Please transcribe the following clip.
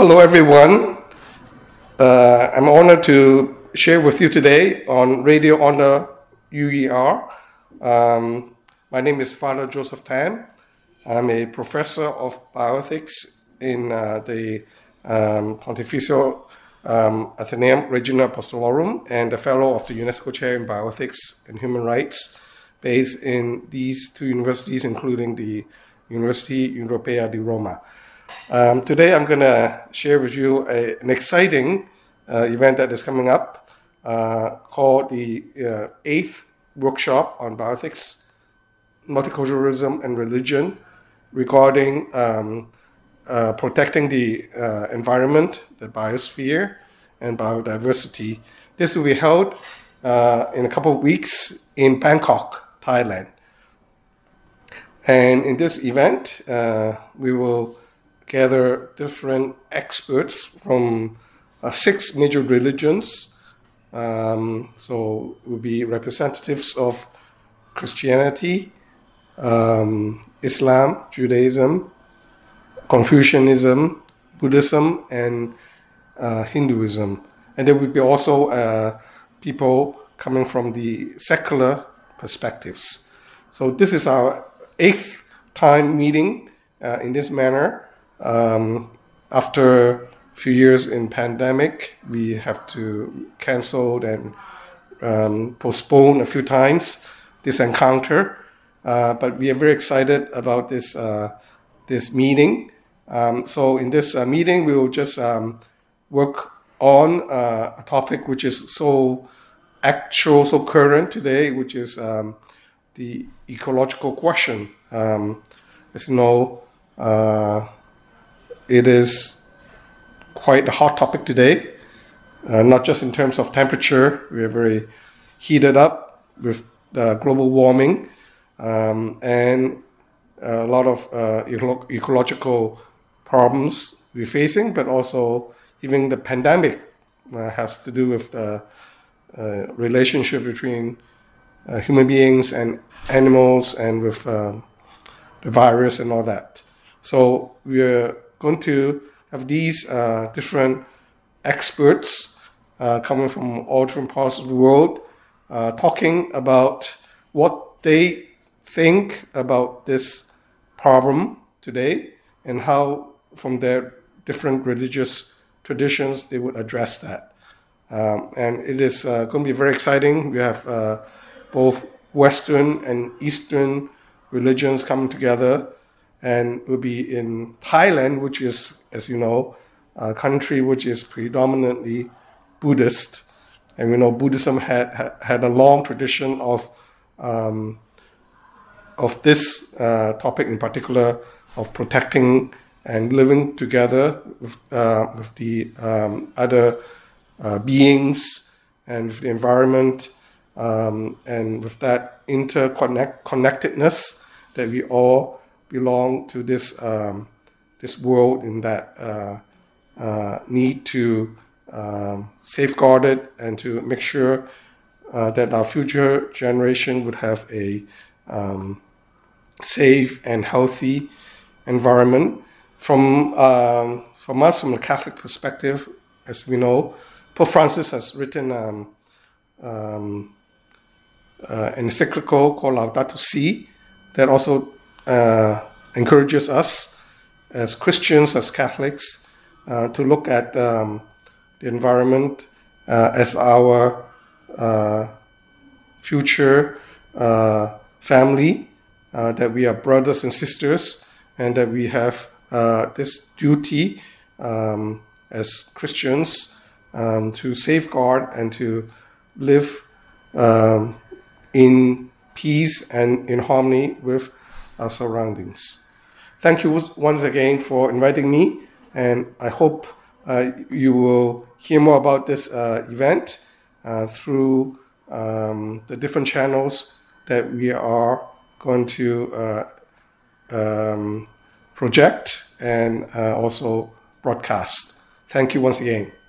Hello, everyone. I'm honored to share with you today on Radio Honor UER. My name is Father Joseph Tan. I'm a professor of bioethics in the Pontifical Athenaeum Regina Apostolorum and a fellow of the UNESCO Chair in Bioethics and Human Rights, based in these two universities, including the University Europea di Roma. Today I'm going to share with you an exciting event that is coming up called the 8th Workshop on Bioethics, Multiculturalism and Religion regarding protecting the environment, the biosphere, and biodiversity. This will be held in a couple of weeks in Bangkok, Thailand. And in this event, we will gather different experts from 6 major religions. So it will be representatives of Christianity, Islam, Judaism, Confucianism, Buddhism, and Hinduism. And there will be also people coming from the secular perspectives. So this is our 8th time meeting in this manner. After a few years in pandemic, we have to cancel and postpone a few times this encounter. But we are very excited about this meeting. So in this meeting, we will just work on a topic which is so actual, so current today, which is the ecological question. As you know, it is quite a hot topic today, not just in terms of temperature. We are very heated up with global warming and a lot of ecological problems we're facing, but also even the pandemic has to do with the relationship between human beings and animals and with the virus and all that. So we're going to have these different experts coming from all different parts of the world talking about what they think about this problem today and how from their different religious traditions they would address that. And it is going to be very exciting. We have both Western and Eastern religions coming together, and we'll be in Thailand, which is, as you know, a country which is predominantly Buddhist. And we know Buddhism had a long tradition of this topic in particular, of protecting and living together with the other beings and with the environment, and with that interconnectedness that we all belong to this world, in that need to safeguard it and to make sure that our future generation would have a safe and healthy environment. From us, from the Catholic perspective, as we know, Pope Francis has written an encyclical called Laudato Si that also encourages us as Christians, as Catholics, to look at the environment as our future family, that we are brothers and sisters, and that we have this duty as Christians to safeguard and to live in peace and in harmony with our surroundings. Thank you once again for inviting me, and I hope you will hear more about this event through the different channels that we are going to project and also broadcast. Thank you once again.